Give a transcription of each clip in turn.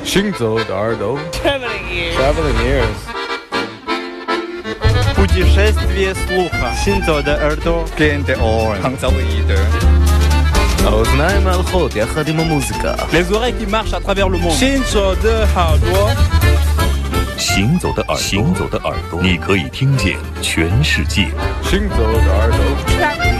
行走的耳朵 Traveling ears. Путешествие слуха. Синцо де Эрдо. Кенте Орен. Хангзавииде. האוזניים הלכות יחד עם המוזיקה. Les oreilles qui marchent à travers le monde. Shinzo de Hardware. 行走的耳朵，你可以听见全世界。 行走的耳朵。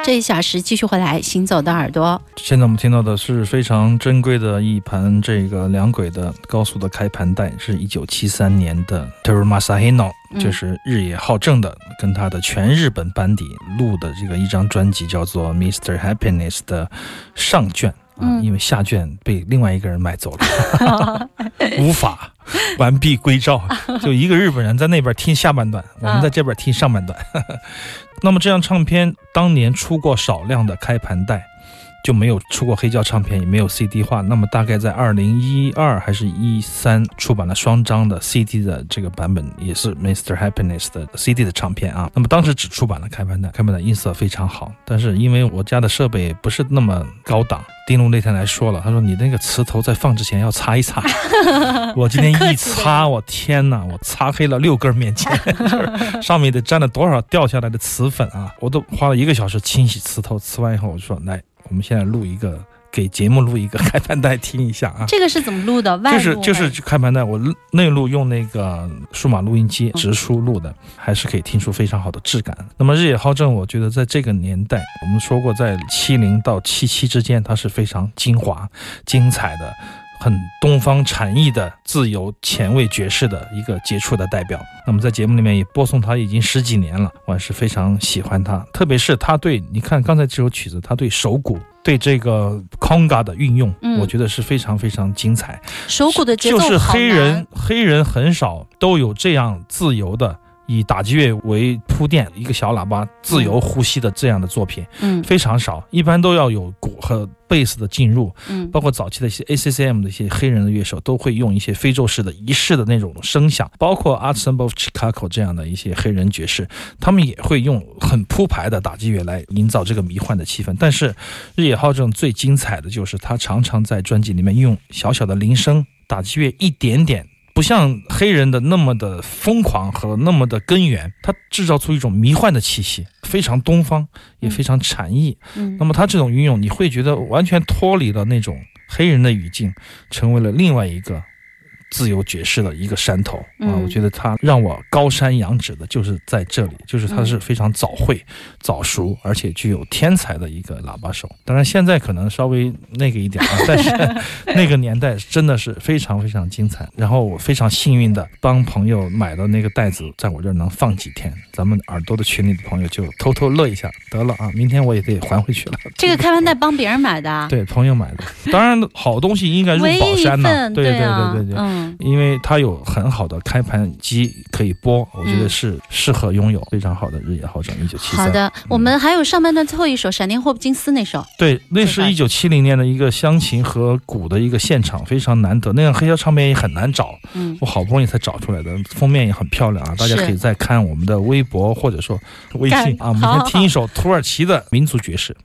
这1小时继续回来行走的耳朵。 现在我们听到的是非常珍贵的一盘这个两轨的高速的开盘带，是1973年的 Teru Masahino， 就是日野浩正的跟他的全日本班底录的这个一张专辑，叫做 Mr. Happiness 的上卷。因为下卷被另外一个人买走了无法完璧归赵，就一个日本人在那边听下半段，我们在这边听上半段那么这张唱片当年出过少量的开盘带，就没有出过黑胶唱片，也没有 CD 化。那么大概在2012还是13出版了双张的 CD 的这个版本，也是 Mr. Happiness 的 CD 的唱片啊。那么当时只出版了开盘带，开盘带音色非常好，但是因为我家的设备不是那么高档，丁龙那天来说了，他说你那个磁头在放之前要擦一擦我今天一擦，我天哪，我擦黑了6根面筋上面得沾了多少掉下来的磁粉啊！我都花了1个小时清洗磁头，吃完以后我就说来，我们现在录一个，给节目录一个开盘带听一下啊。 这个是怎么录的？外录就是开盘带，我内录用那个数码录音机直输录的，还是可以听出非常好的质感。那么日野浩正，我觉得在这个年代，我们说过在70到77之间，它是非常精华、精彩的。很东方禅意的自由前卫爵士的一个杰出的代表。那么在节目里面也播送他已经10几年了，我还是非常喜欢他，特别是他对，你看刚才这首曲子，他对手鼓对这个 conga 的运用，我觉得是非常非常精彩。 手鼓的节奏就是好难， 黑人很少都有这样自由的以打击乐为铺垫，一个小喇叭自由呼吸的这样的作品，非常少，一般都要有鼓和贝斯的进入，包括早期的一些 ACCM 的一些黑人的乐手都会用一些非洲式的仪式的那种声响，包括 Ensemble of Chicago 这样的一些黑人爵士，他们也会用很铺排的打击乐来营造这个迷幻的气氛。但是日野浩正最精彩的就是他常常在专辑里面用小小的铃声打击乐一点点，不像黑人的那么的疯狂和那么的根源，它制造出一种迷幻的气息，非常东方，也非常禅意。那么它这种运用，你会觉得完全脱离了那种黑人的语境，成为了另外一个自由爵士的一个山头啊！我觉得他让我高山仰止的就是在这里，就是他是非常早慧、早熟，而且具有天才的一个喇叭手。当然现在可能稍微那个一点但是那个年代真的是非常非常精彩。然后我非常幸运的帮朋友买的那个袋子，在我这儿能放几天，咱们耳朵的群里的朋友就偷偷乐一下得了啊！明天我也得还回去了。 这个开盘带帮别人买的啊？ 对，朋友买的。当然好东西应该入宝山呢，对对对对对。因为它有很好的开盘机可以播，我觉得是适合拥有非常好的日野浩正1973。 好的，我们还有上半段最后一首《闪电霍普金斯》那首。 对，那是1970年的一个湘琴和鼓的一个现场，非常难得，那样黑胶唱片也很难找，我好不容易才找出来的，封面也很漂亮啊，大家可以再看我们的微博或者说微信啊。我们先听一首土耳其的民族爵士。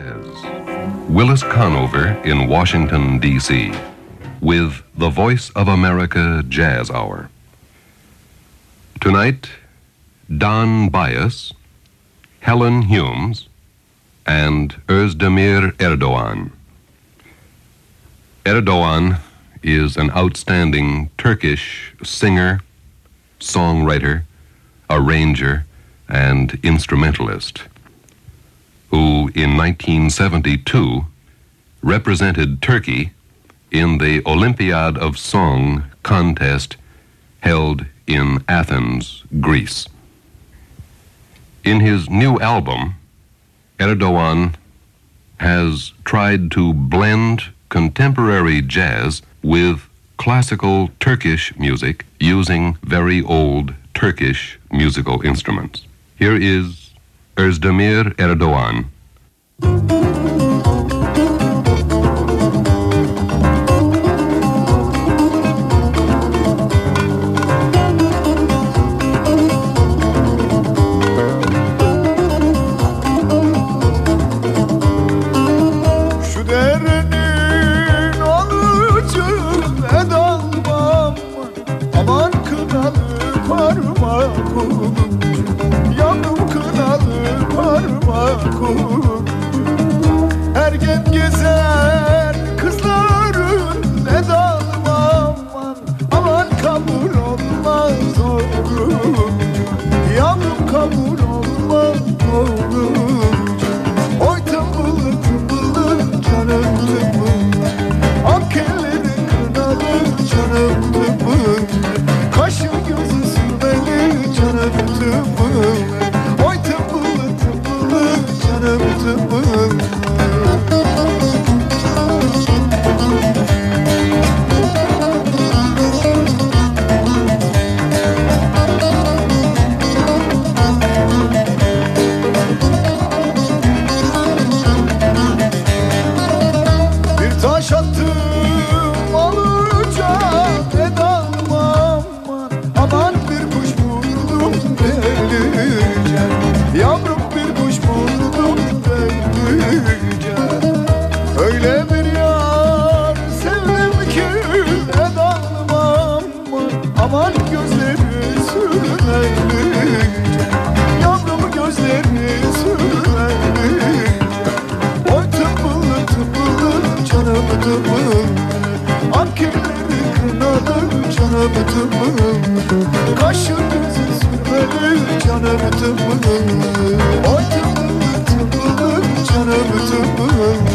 Willis Conover in Washington, D.C.with the Voice of America Jazz Hour. Tonight, Don Bias, Helen Humes, and Özdemir Erdoğan. Erdoğan is an outstanding Turkish singer, songwriter, arranger, and instrumentalist, who in 1972 represented Turkey in the Olympiad of Song contest held in Athens, Greece. In his new album, Erdoğan has tried to blend contemporary jazz with classical Turkish music using very old Turkish musical instruments. Here is Özdemir Erdoğan. Kaşı gözü sürmeli canım tımım. Oy tımım tımım canım tımım.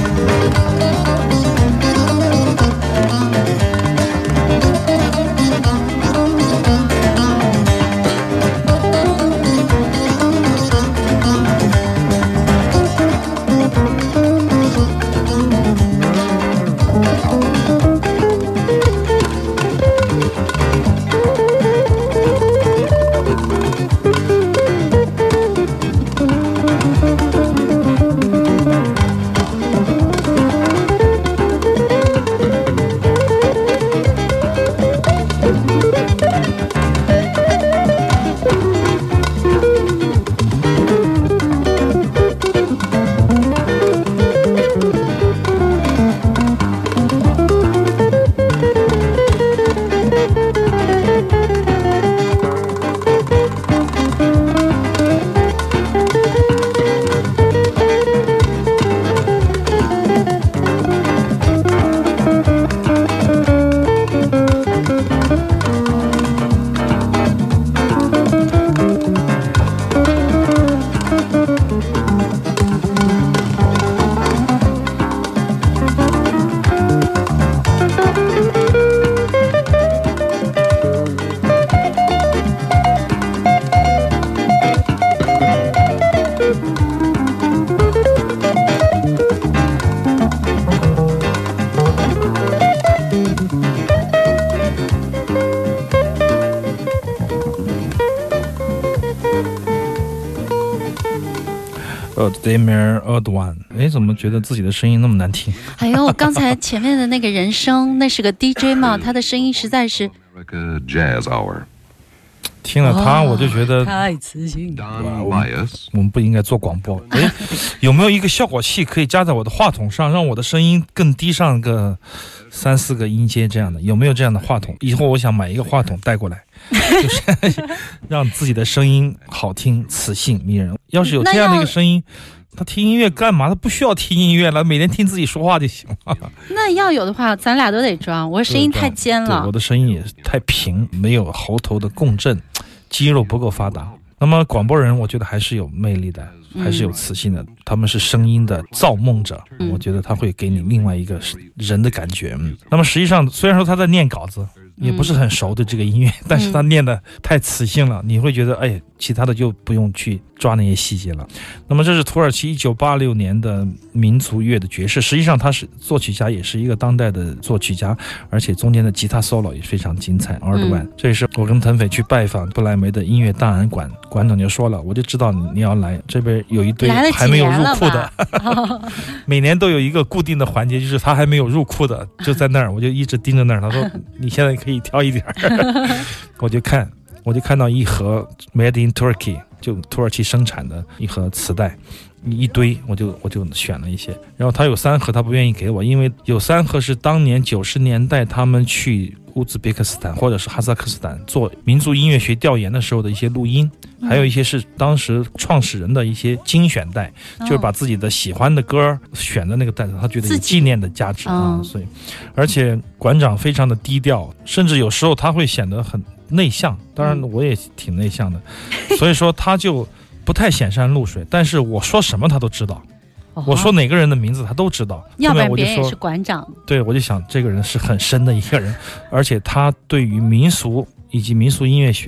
Demir Erdogan， 哎，怎么觉得自己的声音那么难听？ 哎呦，刚才前面的那个人声，那是个 DJ 嘛，他的声音实在是。 Jazz Hour。 听了他，我就觉得太磁性。 我们不应该做广播。哎，有没有一个效果器可以加在我的话筒上，让我的声音更低上个3、4个音阶这样的？有没有这样的话筒？以后我想买一个话筒带过来，就是让自己的声音好听、磁性、迷人。要是有这样的一个声音，他听音乐干嘛？他不需要听音乐了，每天听自己说话就行了。 那要有的话，咱俩都得装。我声音太尖了， 对，我的声音也太平，没有喉头的共振，肌肉不够发达。那么广播人，我觉得还是有魅力的，还是有磁性的。他们是声音的造梦者，我觉得他会给你另外一个人的感觉。那么实际上，虽然说他在念稿子，也不是很熟的这个音乐，但是他念的太磁性了，你会觉得哎，其他的就不用去抓那些细节了。那么这是土耳其1986年的民族乐的爵士，实际上他是作曲家，也是一个当代的作曲家，而且中间的吉他 solo 也非常精彩。Erdogan，这也是我跟腾斐去拜访不来梅的音乐档案馆，馆长就说了，我就知道你要来，这边有一堆还没有入库的，每年都有一个固定的环节，就是他还没有入库的，就在那儿，我就一直盯着那儿。他说你现在可以挑一点我就看到一盒 Made in Turkey， 就土耳其生产的一盒磁带，一堆，我就选了一些。然后他有3盒他不愿意给我，因为有3盒是当年90年代他们去乌兹别克斯坦或者是哈萨克斯坦做民族音乐学调研的时候的一些录音，还有一些是当时创始人的一些精选带，就是把自己的喜欢的歌选的那个带子，他觉得有纪念的价值啊。所以而且馆长非常的低调，甚至有时候他会显得很内向，当然我也挺内向的，所以说他就不太显山露水，但是我说什么他都知道，我说哪个人的名字他都知道， 要不然别人也是馆长。 对，我就想这个人是很深的一个人，而且他对于民俗以及民俗音乐学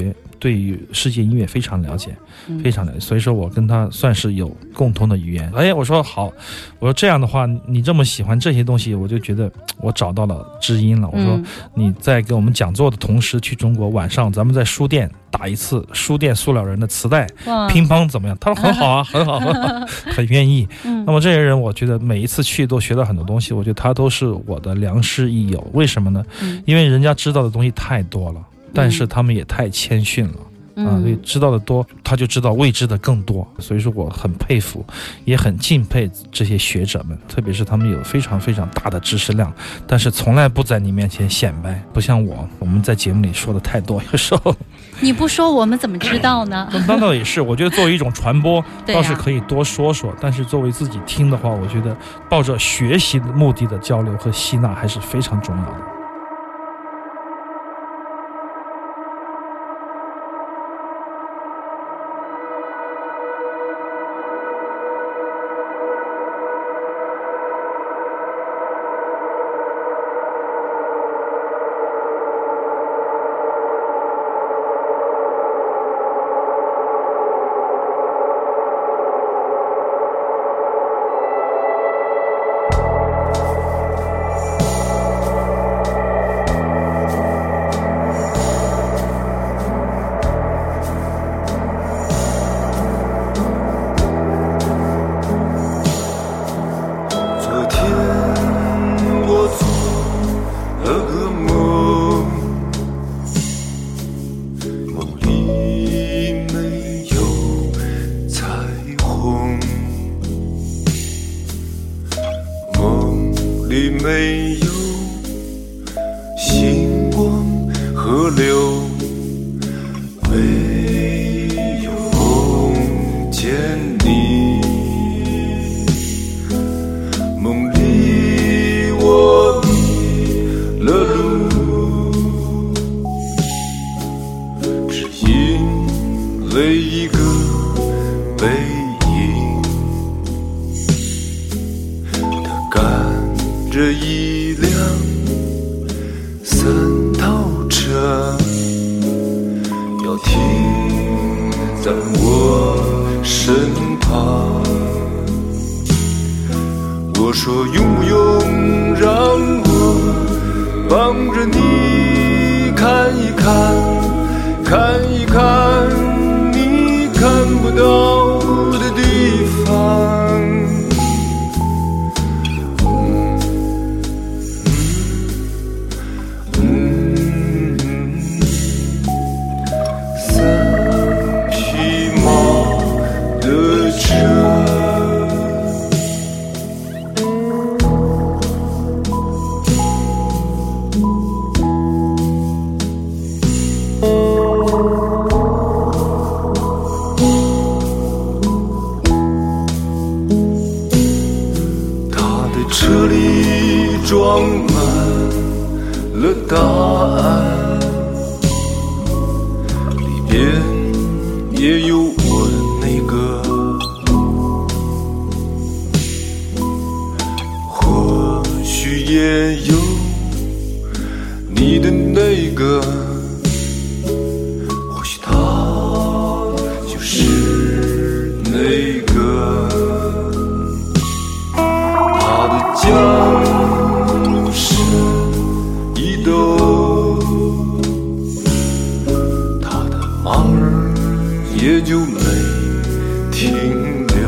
对于世界音乐非常了解，非常了解，所以说我跟他算是有共同的语言。我说好，我说这样的话，你这么喜欢这些东西，我就觉得我找到了知音了。我说你在给我们讲座的同时去中国，晚上咱们在书店打一次书店塑料人的磁带乒乓怎么样？他说很好啊，很好，很愿意。那么这些人我觉得每一次去都学到很多东西，我觉得他都是我的良师益友。为什么呢？因为人家知道的东西太多了，但是他们也太谦逊了。所以知道的多，他就知道未知的更多。所以说我很佩服，也很敬佩这些学者们，特别是他们有非常非常大的知识量，但是从来不在你面前显摆，不像我们在节目里说的太多，有时候你不说我们怎么知道呢？ 那倒也是，我觉得作为一种传播倒是可以多说说，但是作为自己听的话，我觉得抱着学习的目的的交流和吸纳还是非常重要的。 没有星光河流，没有梦见你。梦里我迷了路，只因为一个背影，它赶着一辆三套车，要停在我身旁。我说用不用让我帮着你看一看，看一看你看不到的地方。车里装满了答案，里边也有我的那个，或许也有你的那个，或许他就是那个。江山一抖，他的马儿也就没停留。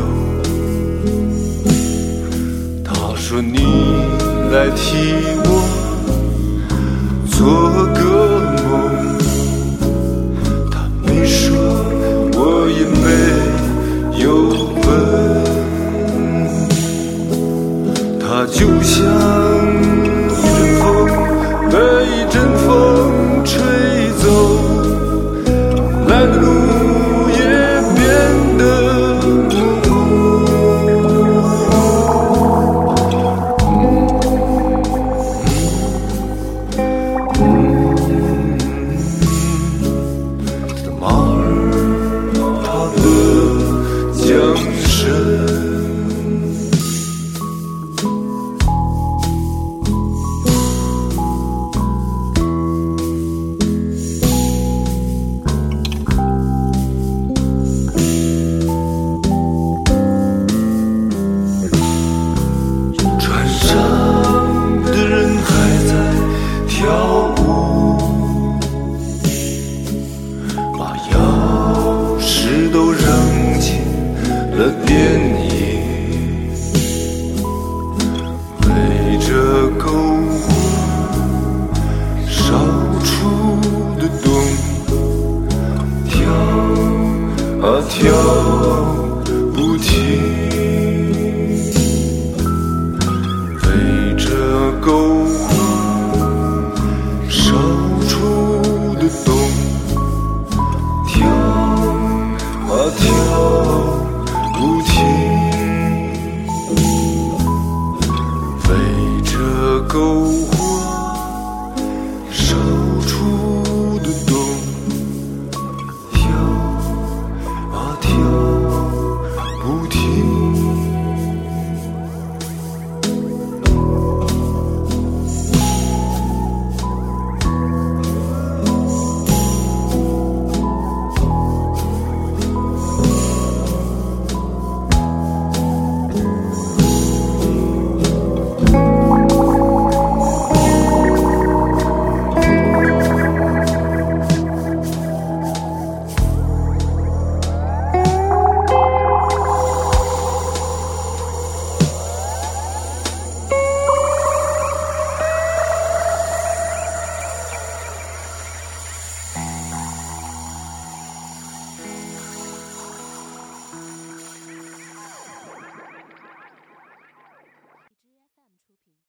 他说你来替我做个梦，他没说，我也没有问。它就像